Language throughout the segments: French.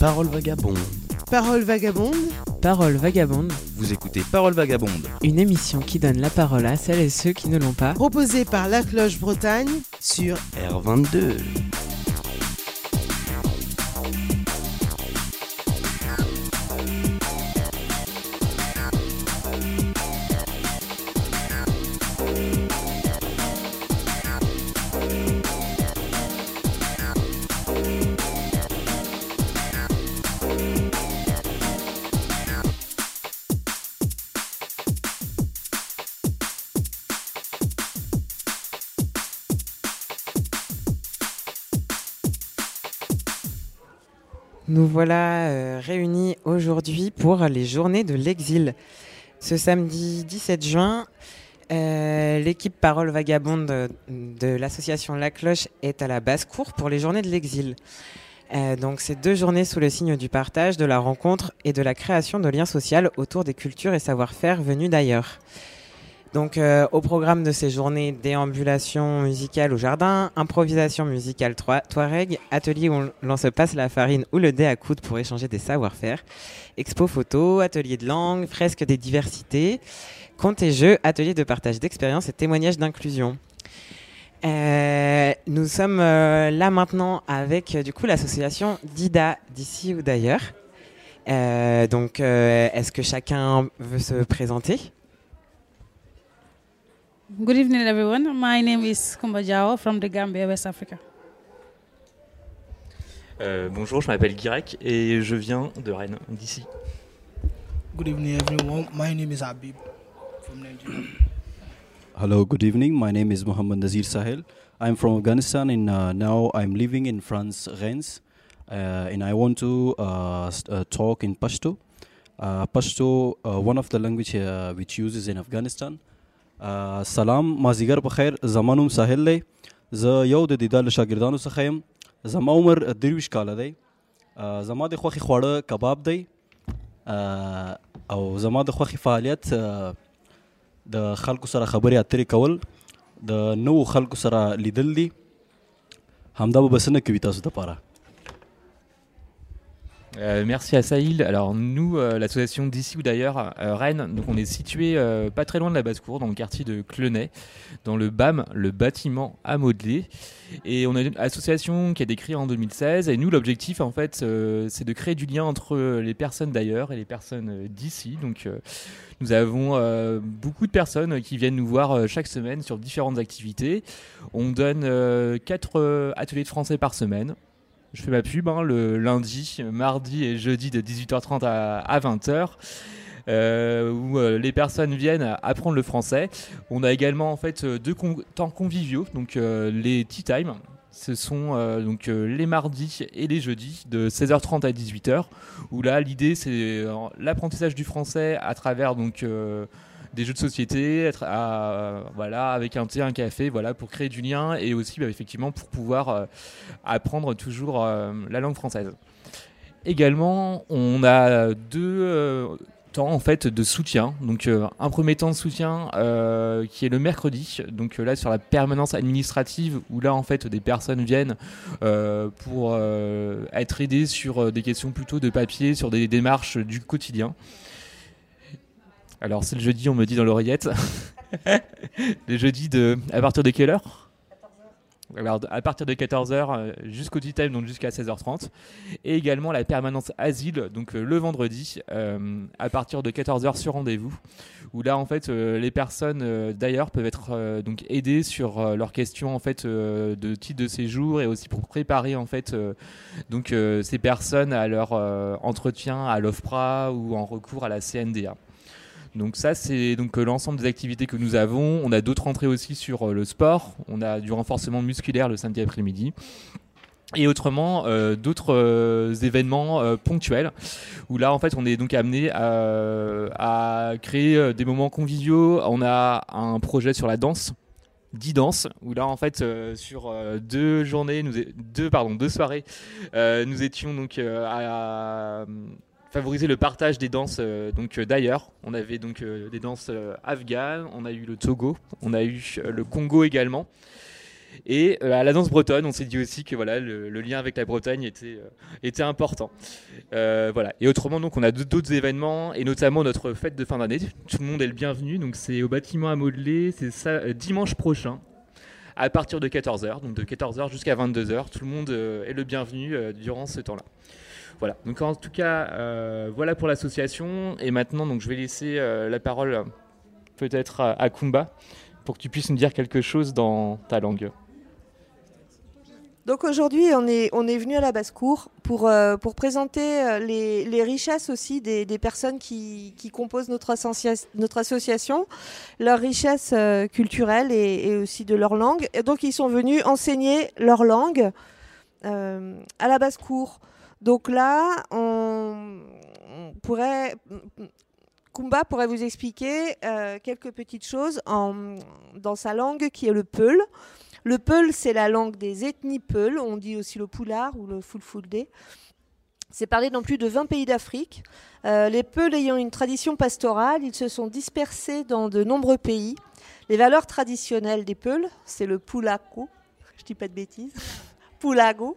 Parole vagabonde. Parole vagabonde. Parole vagabonde. Vous écoutez Parole vagabonde. Une émission qui donne la parole à celles et ceux qui ne l'ont pas. Proposée par La Cloche Bretagne sur R22. Nous voilà réunis aujourd'hui pour les journées de l'exil. Ce samedi 17 juin, l'équipe Parole Vagabonde de l'association La Cloche est à la basse-cour pour les journées de l'exil. Donc c'est 2 journées sous le signe du partage, de la rencontre et de la création de liens sociaux autour des cultures et savoir-faire venus d'ailleurs. Donc au programme de ces journées, déambulation musicale au jardin, improvisation musicale touareg, atelier où l'on se passe la farine ou le dé à coudre pour échanger des savoir-faire, expo photo, atelier de langue, fresque des diversités, contes et jeux, atelier de partage d'expériences et témoignages d'inclusion. Nous sommes là maintenant avec du coup l'association DIDA, d'ici ou d'ailleurs. Donc est-ce que chacun veut se présenter ? Good evening, everyone. My name is Kumba Jao from the Gambia, West Africa. Bonjour, je m'appelle Guirec et je viens de Rennes, d'ici. Good evening, everyone. My name is Habib from Nigeria. Hello, good evening. My name is Mohammad Nazir Sahel. I'm from Afghanistan and now I'm living in France, Rennes. And I want to talk in Pashto. Pashto, one of the language which uses in Afghanistan. سلام مازیګر په خیر زما نوم ساحل دی زه یو د دیدا له شاګردانو څخه یم زما عمر 23 کاله دی زما د خوښې خواړه کباب دی او زما د خوښې فعالیت د خلکو سره خبرې اترې کول د نوو خلکو سره لیدل دي همدا به بسنه کوي تاسو دپاره. Merci à Sahil. Alors nous, l'association d'ici ou d'ailleurs, Rennes, donc on est situé pas très loin de la basse-cour, dans le quartier de Clenay, dans le BAM, le bâtiment à modeler. Et on a une association qui a été créée en 2016. Et nous, l'objectif, en fait, c'est de créer du lien entre les personnes d'ailleurs et les personnes d'ici. Donc nous avons beaucoup de personnes qui viennent nous voir chaque semaine sur différentes activités. On donne 4 ateliers de français par semaine. Je fais ma pub le lundi, mardi et jeudi de 18h30 à 20h où les personnes viennent apprendre le français. On a également en fait 2 temps conviviaux, donc les tea time. Ce sont donc les mardis et les jeudis de 16h30 à 18h où là l'idée c'est l'apprentissage du français à travers donc des jeux de société, voilà, avec un thé, un café, voilà, pour créer du lien et aussi effectivement pour pouvoir apprendre toujours la langue française. Également, on a 2 temps en fait de soutien. Donc un premier temps de soutien qui est le mercredi. Donc là sur la permanence administrative où là en fait des personnes viennent pour être aidées sur des questions plutôt de papier, sur des démarches du quotidien. Alors c'est le jeudi, on me dit dans l'oreillette. Le jeudi à partir de quelle heure ? Alors à partir de 14h jusqu'au tea time, donc jusqu'à 16h30. Et également la permanence asile, donc le vendredi, à partir de 14h sur rendez-vous. Où là en fait les personnes d'ailleurs peuvent être donc aidées sur leurs questions en fait de titre de séjour et aussi pour préparer en fait donc ces personnes à leur entretien à l'OFPRA ou en recours à la CNDA. Donc ça c'est donc l'ensemble des activités que nous avons. On a d'autres entrées aussi sur le sport. On a du renforcement musculaire le samedi après-midi. Et autrement d'autres événements ponctuels où là en fait on est donc amené à créer des moments conviviaux. On a un projet sur la danse, 10 danses, où là en fait sur 2 journées, 2 soirées, nous étions donc à favoriser le partage des danses donc d'ailleurs. On avait donc des danses afghanes, on a eu le Togo, on a eu le Congo également. Et à la danse bretonne, on s'est dit aussi que voilà, le lien avec la Bretagne était important. Voilà. Et autrement, donc, on a d'autres événements, et notamment notre fête de fin d'année. Tout le monde est le bienvenu. Donc, c'est au bâtiment à Modeler. C'est ça, dimanche prochain, à partir de 14h. Donc, de 14h jusqu'à 22h. Tout le monde est le bienvenu durant ce temps-là. Voilà. Donc, en tout cas, voilà pour l'association. Et maintenant, donc, je vais laisser la parole peut-être à Kumba pour que tu puisses nous dire quelque chose dans ta langue. Donc aujourd'hui, on est venu à la basse-cour pour présenter les richesses aussi des personnes qui composent notre association, leurs richesses culturelles et aussi de leur langue. Et donc ils sont venus enseigner leur langue à la basse-cour. Donc là, Kumba pourrait vous expliquer quelques petites choses dans sa langue qui est le peul. Le peul, c'est la langue des ethnies peul, on dit aussi le poulard ou le fulfulde. C'est parlé dans plus de 20 pays d'Afrique. Les peuls ayant une tradition pastorale, ils se sont dispersés dans de nombreux pays. Les valeurs traditionnelles des peuls, c'est le pulaco, je dis pas de bêtises, pulago,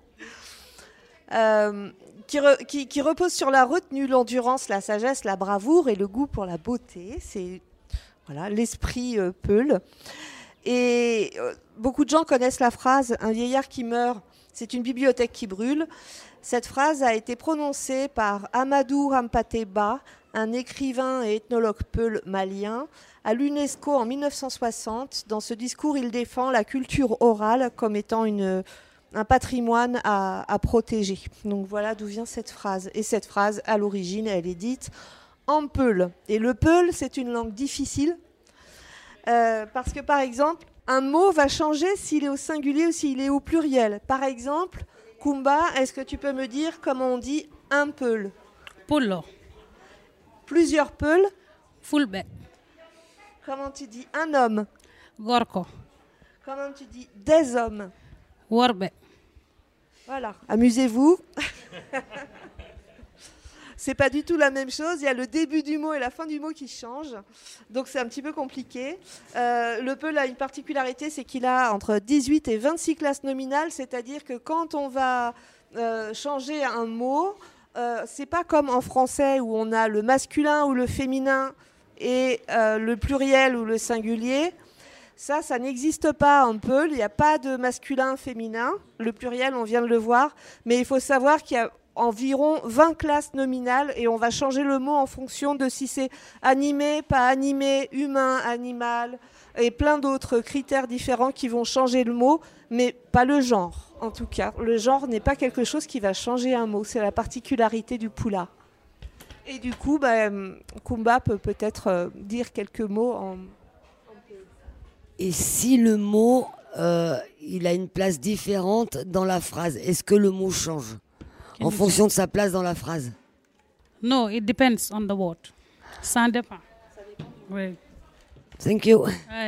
qui repose sur la retenue, l'endurance, la sagesse, la bravoure et le goût pour la beauté. C'est voilà, l'esprit peul. Et beaucoup de gens connaissent la phrase « Un vieillard qui meurt, c'est une bibliothèque qui brûle ». Cette phrase a été prononcée par Amadou Hampâté Bâ, un écrivain et ethnologue peul malien, à l'UNESCO en 1960. Dans ce discours, il défend la culture orale comme étant un patrimoine à protéger. Donc voilà d'où vient cette phrase. Et cette phrase, à l'origine, elle est dite en peul. Et le peul, c'est une langue difficile. Parce que, par exemple, un mot va changer s'il est au singulier ou s'il est au pluriel. Par exemple, Kumba, est-ce que tu peux me dire comment on dit un peul? Pullo. Plusieurs peuls. Fulbe. Comment tu dis un homme? Gorko. Comment tu dis des hommes? Worbe. Voilà, amusez-vous. C'est pas du tout la même chose. Il y a le début du mot et la fin du mot qui changent. Donc c'est un petit peu compliqué. Le peul a une particularité, c'est qu'il a entre 18 et 26 classes nominales. C'est-à-dire que quand on va changer un mot, c'est pas comme en français où on a le masculin ou le féminin et le pluriel ou le singulier. Ça n'existe pas en peul. Il n'y a pas de masculin, féminin. Le pluriel, on vient de le voir. Mais il faut savoir qu'il y a environ 20 classes nominales et on va changer le mot en fonction de si c'est animé, pas animé, humain, animal et plein d'autres critères différents qui vont changer le mot, mais pas le genre en tout cas. Le genre n'est pas quelque chose qui va changer un mot, c'est la particularité du poula. Et du coup, Kumba peut peut-être dire quelques mots en... Et si le mot, il a une place différente dans la phrase, est-ce que le mot change en fonction de sa place dans la phrase? No, it depends on the word. Ça dépend. Oui. Thank you.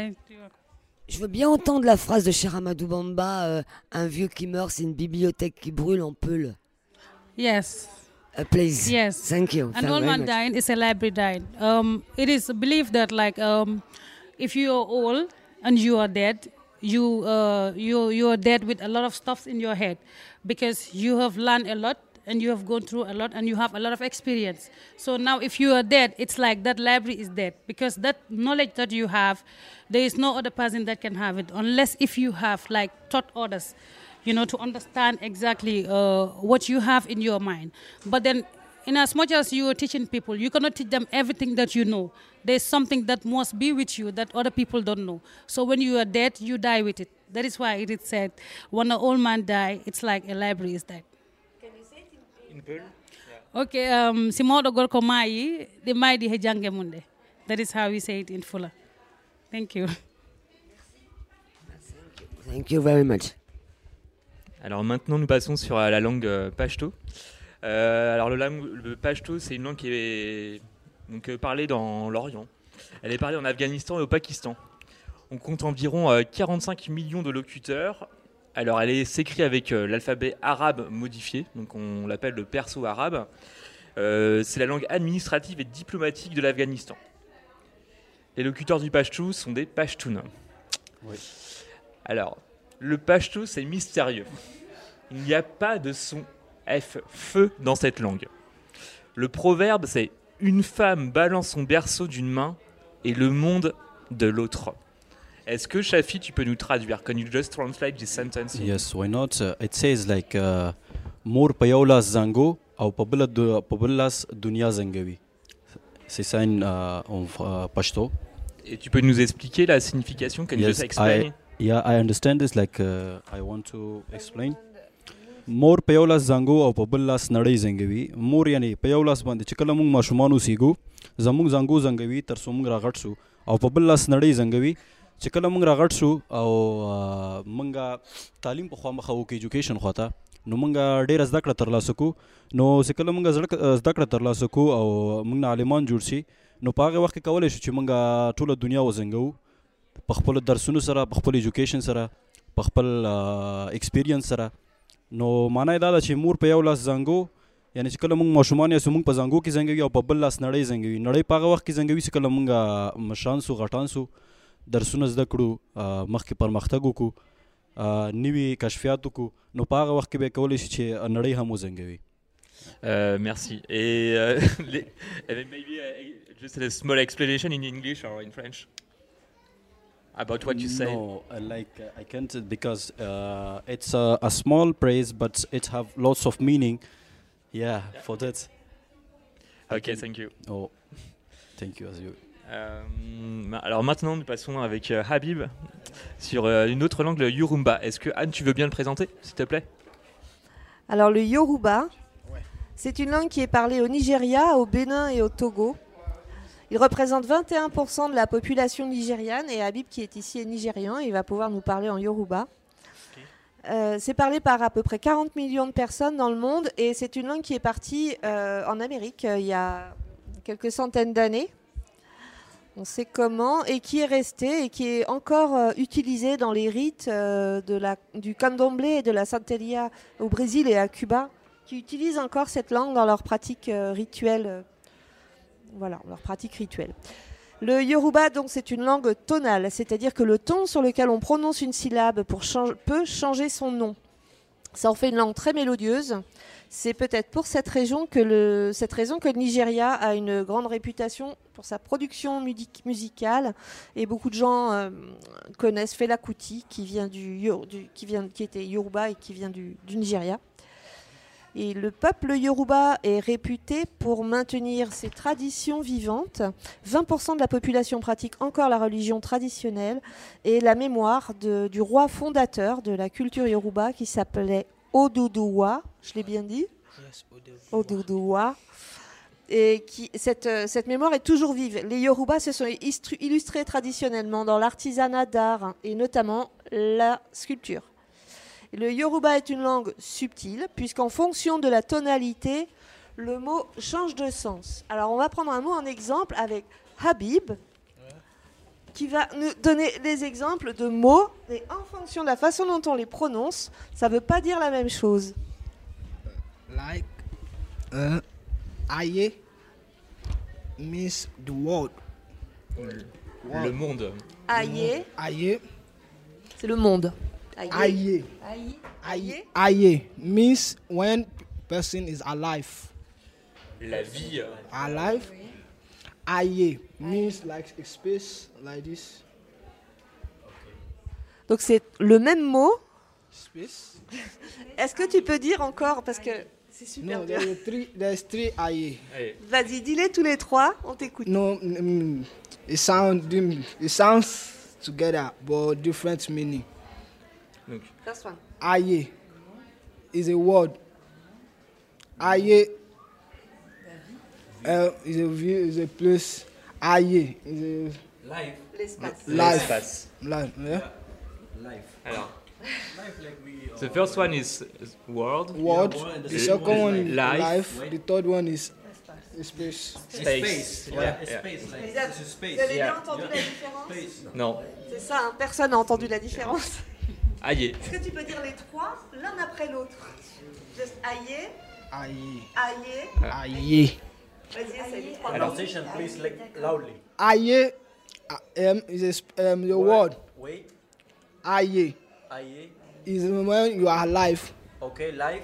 Je veux bien entendre la phrase de Cher Amadou Bamba, un vieux qui meurt, c'est une bibliothèque qui brûle en peul. Yes. Please. Yes. Thank you. An old man dying is a library dying. It is believed that if you are old and you are dead, you are dead with a lot of stuff in your head because you have learned a lot and you have gone through a lot and you have a lot of experience. So now if you are dead, it's like that library is dead because that knowledge that you have, there is no other person that can have it unless if you have taught others, to understand exactly what you have in your mind. But then in as much as you are teaching people, you cannot teach them everything that you know. There's something that must be with you that other people don't know. So when you are dead, you die with it. That is why it is said, when an old man dies, it's like a library is dead. Can you say it in Peul? Yeah. Okay, si mawɗo gorko maayi, ɗe maaydi he jangge mum nde. That is how we say it in Fula. Thank you. Thank you very much. Alors maintenant, nous passons sur la langue pachto. Alors le pachto, c'est une langue qui est parlée dans l'Orient. Elle est parlée en Afghanistan et au Pakistan. On compte environ 45 millions de locuteurs. Alors elle s'écrit avec l'alphabet arabe modifié, donc on l'appelle le perso-arabe. C'est la langue administrative et diplomatique de l'Afghanistan. Les locuteurs du pachto sont des pashtuns. Oui. Alors, Le pashto, c'est mystérieux. Il n'y a pas de son F, feu, dans cette langue. Le proverbe, c'est « Une femme balance son berceau d'une main et le monde de l'autre ». Est-ce que, Shafi, tu peux nous traduire? Can you just translate this sentence? Yes, why not? It says like Mor Payolas Zango au Pabelas Dunia Zangawi. C'est ça en Pashto. Et tu peux nous expliquer la signification? Can you just explain? I understand this. Like I want to explain. Mor Payolas Zango au Pabelas Nadei Zangawi. Mor yani Payolas bande chikalamung mashumanu sigu. Zamung Zango Zangawi tarsumung ragatsu. Au Pabelas Nadei Zangawi. چې کله موږ راغټ شو او موږ تعلیم په خوا مخه وکړو ایجوکیشن خوا ته نو موږ ډېره زده کړه ترلاسه کړو نو چې کله موږ زده کړه ترلاسه کړو او موږ نه عالمان جوړ شي نو په هغه وخت کې کولی شو چې موږ ټوله دنیا وزنګو په خپلو درسونو سره په خپل ایجوکیشن سره په خپل ایکسپیرینس سره نو معنی دا ده چې مور په یو لاس زنګو یعنی چې کله موږ ماشومان یاسو موږ په زنګو کې زنګوي او په بل لاس نړۍ زنګوي نړۍ په هغه وخت کې زنګوي چې کله موږ مشران سو غټان سو درسونه زده کړو مخکې پرمختګ وکړو نوي کشفیات وکړو نو په هغه وخت کې به کولی شي چې نړۍ هم وزنګوي. Merci. Et maybe just a small explanation in English or in French about what you say. No, I can't because it's a small phrase but it have lots of meaning. Yeah, for that. Okay, thank you. Oh, thank you as you. Alors maintenant, nous passons avec Habib sur une autre langue, le Yoruba. Est-ce que Anne, tu veux bien le présenter, s'il te plaît? Alors le Yoruba, c'est une langue qui est parlée au Nigeria, au Bénin et au Togo. Il représente 21% de la population nigériane et Habib, qui est ici, est nigérian. Il va pouvoir nous parler en Yoruba. C'est parlé par à peu près 40 millions de personnes dans le monde et c'est une langue qui est partie en Amérique il y a quelques centaines d'années. On sait comment, et qui est resté et qui est encore utilisé dans les rites du candomblé et de la santeria au Brésil et à Cuba, qui utilisent encore cette langue dans leurs pratiques rituelles. Voilà, leurs pratiques rituelles. Le Yoruba, donc, c'est une langue tonale, c'est-à-dire que le ton sur lequel on prononce une syllabe peut changer son nom. Ça en fait une langue très mélodieuse. C'est peut-être pour cette raison que le Nigeria a une grande réputation pour sa production musicale. Et beaucoup de gens connaissent Fela Kuti, qui était Yoruba et qui vient du Nigeria. Et le peuple Yoruba est réputé pour maintenir ses traditions vivantes. 20% de la population pratique encore la religion traditionnelle et la mémoire du roi fondateur de la culture Yoruba qui s'appelait Oduduwa, je l'ai bien dit? Yes, Oduduwa. Et cette mémoire est toujours vive. Les Yoruba se sont illustrés traditionnellement dans l'artisanat d'art et notamment la sculpture. Le Yoruba est une langue subtile puisqu'en fonction de la tonalité, le mot change de sens. Alors on va prendre un mot en exemple avec Habib qui va nous donner des exemples de mots et en fonction de la façon dont on les prononce, ça ne veut pas dire la même chose. Like, aye means the world. Le monde. Aye, Aye, c'est le monde. aye, Aye. aye means when person is alive. La vie. Alive. Aye means like a space like this. Donc c'est le même mot. Space. Est-ce que tu peux dire encore parce que c'est super No, bien. there's three aye. Vas-y, dis-les tous les trois, on t'écoute. No, it sounds together but different meaning. Donc, First one. Aye is a word. Aye is a view, is a place. Aye is L'espace. a life. l'espace. Life. Yeah? Alors, the first one is world. Word. The second one is Life. life. The third one is space. Space. Yeah, yeah. Vous avez bien entendu la différence? Non. C'est ça, hein, personne n'a entendu la différence. Aïe. Est-ce que tu peux dire les trois l'un après l'autre? Just aïe, Aye. aïe. Aye. Vas-y, essaye les trois. Alors, Please, loudly. Aye is the word. Wait. Aye. Aye. is when you are alive. Okay, life.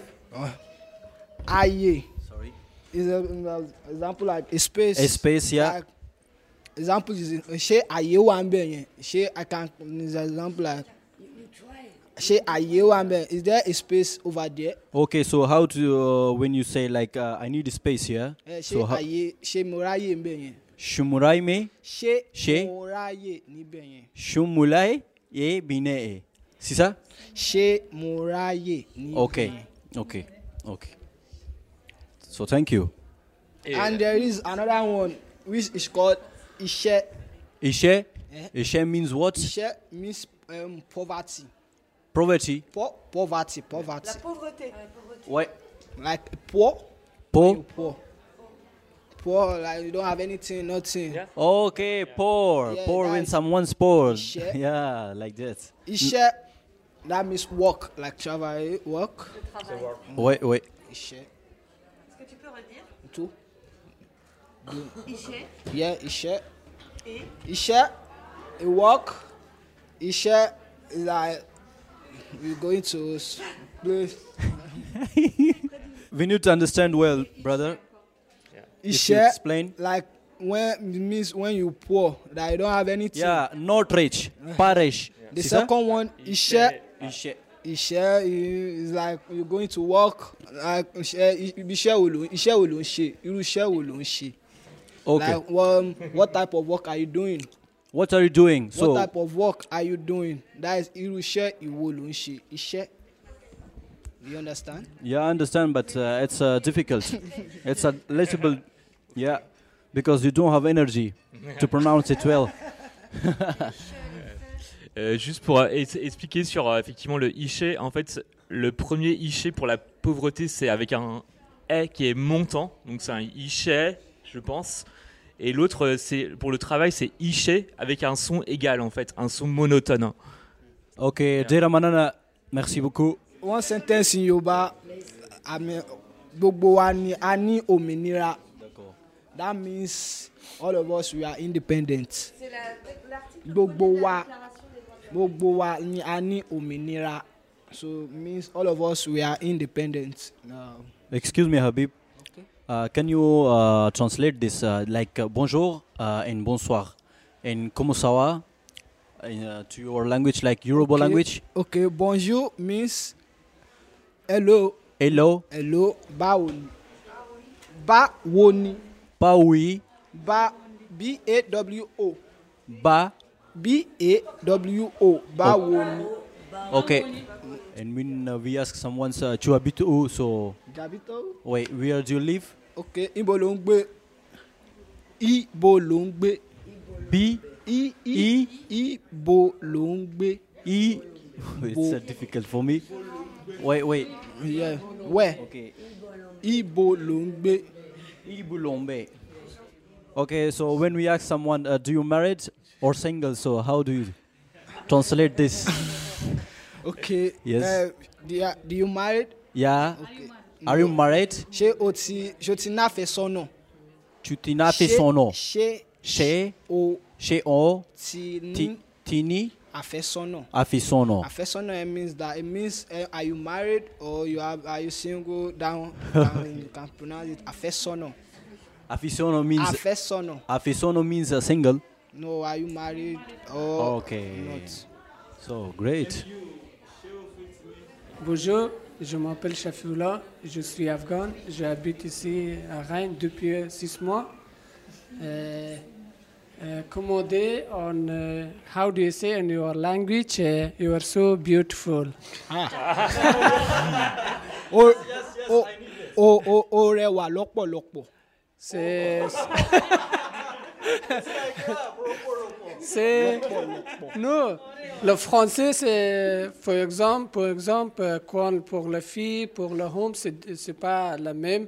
Aye Sorry. is an example like a space. A space, yeah. Like, example is she aye one be she I can is an example like she aye one be. Is there a space over there? Okay, so how to when you say like I need a space here? She So how, aye she moraye be Shumurai me, she She? moraye ni be Shumulai ye bine e. C'est ça? she moraye ni. Okay. Okay. Okay. So thank you. And there is another one which is called Ishe. Ishe? Ishe means what? Ishe means poverty. Poverty. Poverty. La pauvreté. Ouais. Like poor. Po. You poor. Poor, like you don't have anything, nothing. Yeah. Okay, poor. Yeah, Poor when that's- someone's poor. Ishe. Yeah, like that. Ishe, that means work, like travel, work. Ouais, ouais. Ishe. Est-ce que tu peux redire? Tout. Ishe. Yeah, Ishe. Et Ishe, a work. Ishe is like we're going to place. We need to understand well, brother. If you Ishe, explain. like when it means when you poor, that you don't have anything. Yeah, not rich. Pas riche. The C'est ça? second one, Ishe. Ishe. Iṣẹ́ is like you're going to work like iṣẹ́ wo ló ń ṣe irú iṣẹ́ wo ló ń ṣe. Okay. Like what type of work are you doing? What are you doing? What So, type of work are you doing? That is irú iṣẹ́ ìwo ló ń ṣe iṣẹ́. You understand? yeah, I understand, but it's difficult. It's a little bit, yeah, because you don't have energy to pronounce it well. Juste pour expliquer sur effectivement le Ishe, en fait, le premier Ishe pour la pauvreté, c'est avec un E qui est montant, donc c'est un Ishe, je pense. Et l'autre, c'est pour le travail, c'est Ishe avec un son égal, en fait, un son monotone. Ok, Dera Manana, merci beaucoup. One sentence in Yoruba, gbogbo wa ni a ní òmìnira. That means all of us we are independent. c'est l'article. Gbogbo wa ni a ní òmìnira. So means all of us we are independent. Excuse me, Habib. Can you translate this like bonjour and bonsoir and comment ça va to your language, like Yoruba language? Okay, bonjour means hello. Hello, Hello, báwo ni? Báwo ni? Paoui, B-A-W-O. Ba. B-A-W-O. Báwo ni? Okay. And when we ask someone, tu habites où? So, Jabito? wait, where do you live? Okay, ibo ló ń gbé? Ibo ló ń gbé? B. Ibo ló ń gbé? It's difficult for me. Wait. Yeah. Where? Okay. Ibo ló ń gbé? Ibulombe. Okay, so when we ask someone, do you married or single? So how do you translate this? Okay. Yes. Do you married? Yeah. Okay. Are you married? Ṣé o ti náfẹ̀sọ́nà? Tu t'y n'as fait son nom. Ṣé Chez, o chez on, ti ní tini, àfẹ́sọ́nà? a fait son nom. Àfẹ́sọ́nà means are you married or are you single? Down you can pronounce it àfẹ́sọ́nà. Aficiono means Àfẹ́sọ́nà. aficiono means single. No, are you married or Okay. not? So great. Bonjour, je m'appelle Shafioula, je suis afghan, j'habite ici à Rennes depuis 6 mois. Commandé on how do you say in your language? You are so beautiful. O rẹwà lọ́pọ̀lọpọ̀. C'est non. Le français, c'est par exemple, quand pour la fille, pour le homme, c'est pas la même.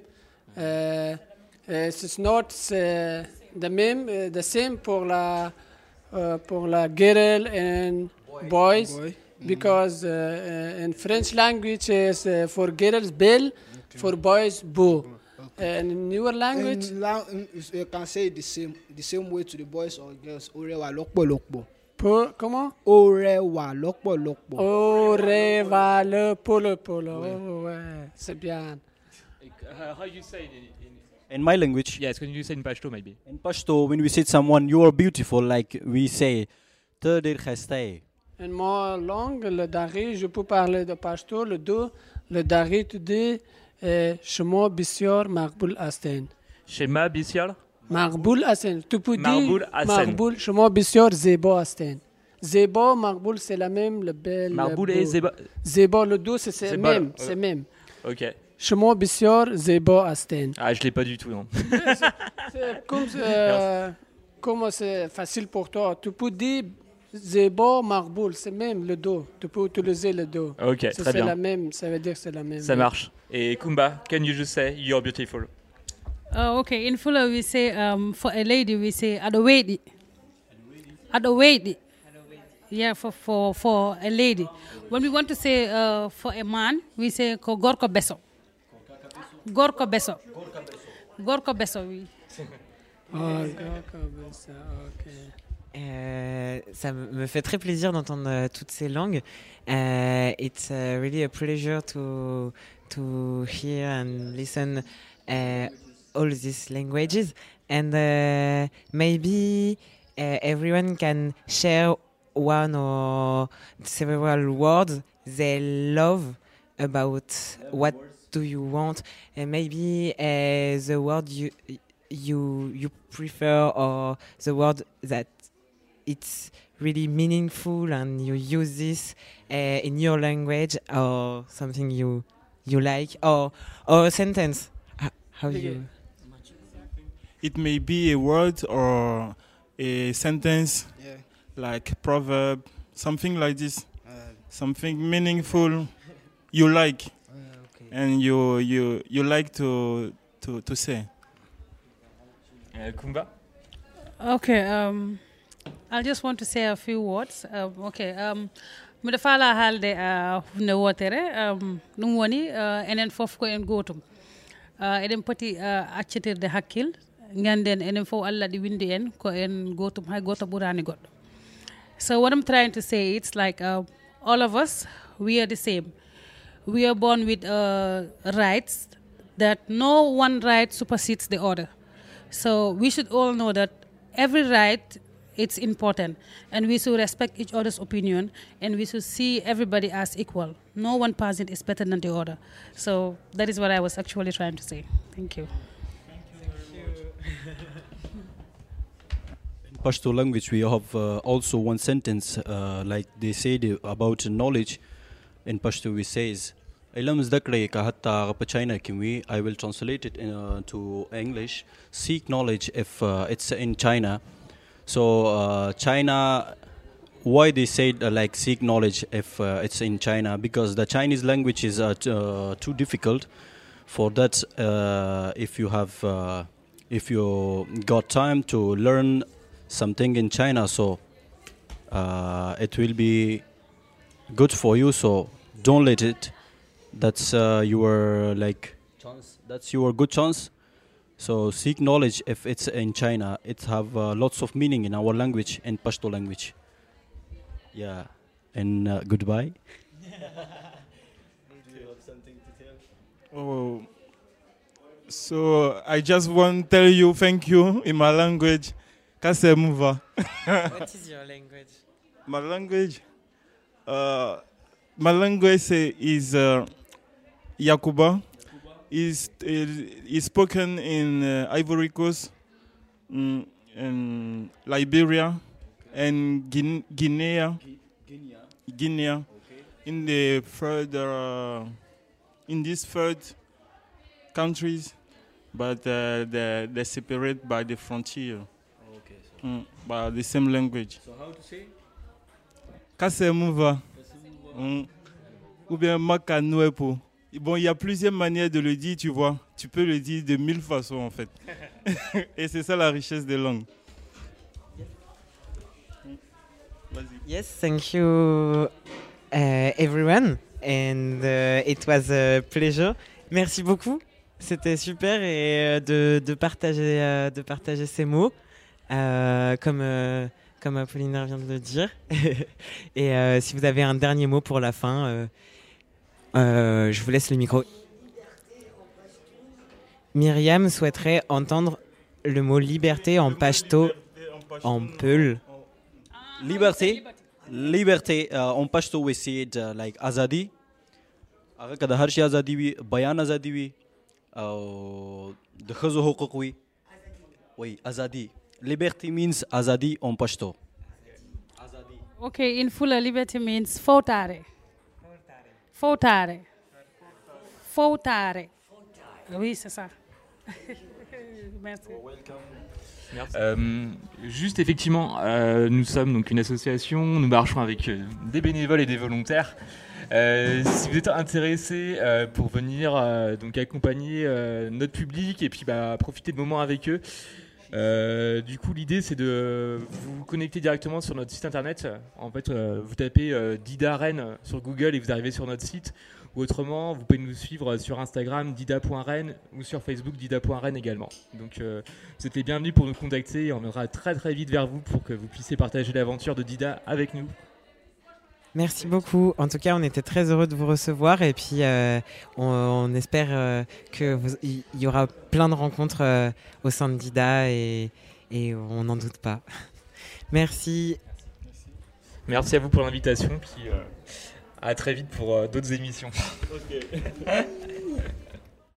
It's not the same pour la girl and boys. Because in French language is for girls belle, for boys beau. And in your language, You can say it the same way to the boys or girls. O rẹwà lọ́pọ̀lọpọ̀. Comment? Orewa lọ́pọ̀lọpọ̀. Oreva le polo polo. Oh, ouais, c'est bien. How you say In my language, Yes, can you say in Pashto maybe? in Pashto, when we say to someone, you are beautiful, like we say, Tădir khastay. En ma langue, le dari, je peux parler de pashto, le do, le dari tu dis, shmo bisior maqbul asten. Shema Bisyal? Maqbul asten. Tu peux dire Maqbul Hasan. maqbul, shmo bisior zebo asten. Zebo, maqbul, c'est la même, le bel. Marboul beau. et Zeba. Zebo, le do, c'est Zeba, même, c'est même. Ok. Shmo bisior zebo asten. Ah, je l'ai pas du tout, non. C'est comme c'est facile pour toi. Tu peux dire zebo, maqbul, c'est même le do. Tu peux utiliser le do. Ok, très C'est bien. la même, ça veut dire que c'est la même. Ça marche. Et Kumba, can you just say you're beautiful? Okay, in Fula we say for a lady we say adowedi. Adowedi. Yeah, for a lady. When we want to say for a man, we say ko gorko beso. Gorko beso. Gorko beso. Oui. Oh, d'accord, ça, ok. Ça me fait très plaisir d'entendre toutes ces langues. It's really a pleasure to hear and listen all these languages. And maybe everyone can share one or several words they love about what do you want, and maybe the word you prefer, or the word that it's really meaningful and you use this in your language, or something you like, or a sentence. How you? It may be a word or a sentence, Yeah. like proverb, something like this, something meaningful you like, and you like to say. Kumba? Okay, I just want to say a few words. Mbiɗa faala haalde hunde wotere ɗum woni enen fof ko en gootum. Eɗen poti accitirde hakkil ganden enen fof Allah ɗi windi en ko en gootum hay goto ɓurani goɗɗo. So what I'm trying to say, it's like all of us, we are the same. We are born with rights that no one right supersedes the other. So we should all know that every right, it's important, and we should respect each other's opinion, and we should see everybody as equal. No one person is better than the other. So that is what I was actually trying to say. Thank you. In Pashto language, we have also one sentence, like they said about knowledge. In Pashto, we says, "Ilam zdakre ka hatta gapachina kimwi." I will translate it to English. Seek knowledge if it's in China. So China, why they said like seek knowledge if it's in China? Because the Chinese language is too difficult. For that, if you got time to learn something in China, so it will be good for you. So don't let it. That's your like chance. That's your good chance. So seek knowledge if it's in China. It have lots of meaning in our language, in Pashto language. Yeah, and goodbye. Do you have something to tell? Oh, so I just want to tell you thank you in my language. Kase muva. What is your language? My language? My language is Yakuba. Is spoken in Ivory Coast, in Liberia, and Guinea. In the further, in these third countries, but they're separate by the frontier. Okay. So by the same language. So how to say? Kasemuva. Ou bien Makanuepo. Bon, il y a plusieurs manières de le dire, tu vois. Tu peux le dire de 1000 façons, en fait. Et c'est ça la richesse des langues. Vas-y. Yes, thank you everyone, and it was a pleasure. Merci beaucoup. C'était super et de partager ces mots comme comme Apollinaire vient de le dire. Et si vous avez un dernier mot pour la fin, je vous laisse le micro. Myriam souhaiterait entendre le mot liberté en pashto, en peul. Liberté en pashto we say it like azadi. Agar kada har shay azadi wi, bayan azadi wi, de khazo huquq wi. Oui, azadi. Liberty means azadi en pashto. Okay, in Fula, liberty means fautare. Fautare. Fautare. Oui, c'est ça. Merci. Juste effectivement, nous sommes donc une association, nous marchons avec des bénévoles et des volontaires. Si vous êtes intéressés pour venir donc accompagner notre public et puis profiter de moments avec eux, du coup l'idée c'est de vous connecter directement sur notre site internet. En fait, vous tapez Dida Rennes sur Google et vous arrivez sur notre site. Ou autrement, vous pouvez nous suivre sur Instagram dida.rennes ou sur Facebook dida.rennes également. Donc vous êtes les bienvenus pour nous contacter et on viendra très très vite vers vous pour que vous puissiez partager l'aventure de Dida avec nous. Merci beaucoup. En tout cas, on était très heureux de vous recevoir et puis on espère qu'il y aura plein de rencontres au sein de Dida et on n'en doute pas. Merci. Merci à vous pour l'invitation. Puis, à très vite pour d'autres émissions. Okay.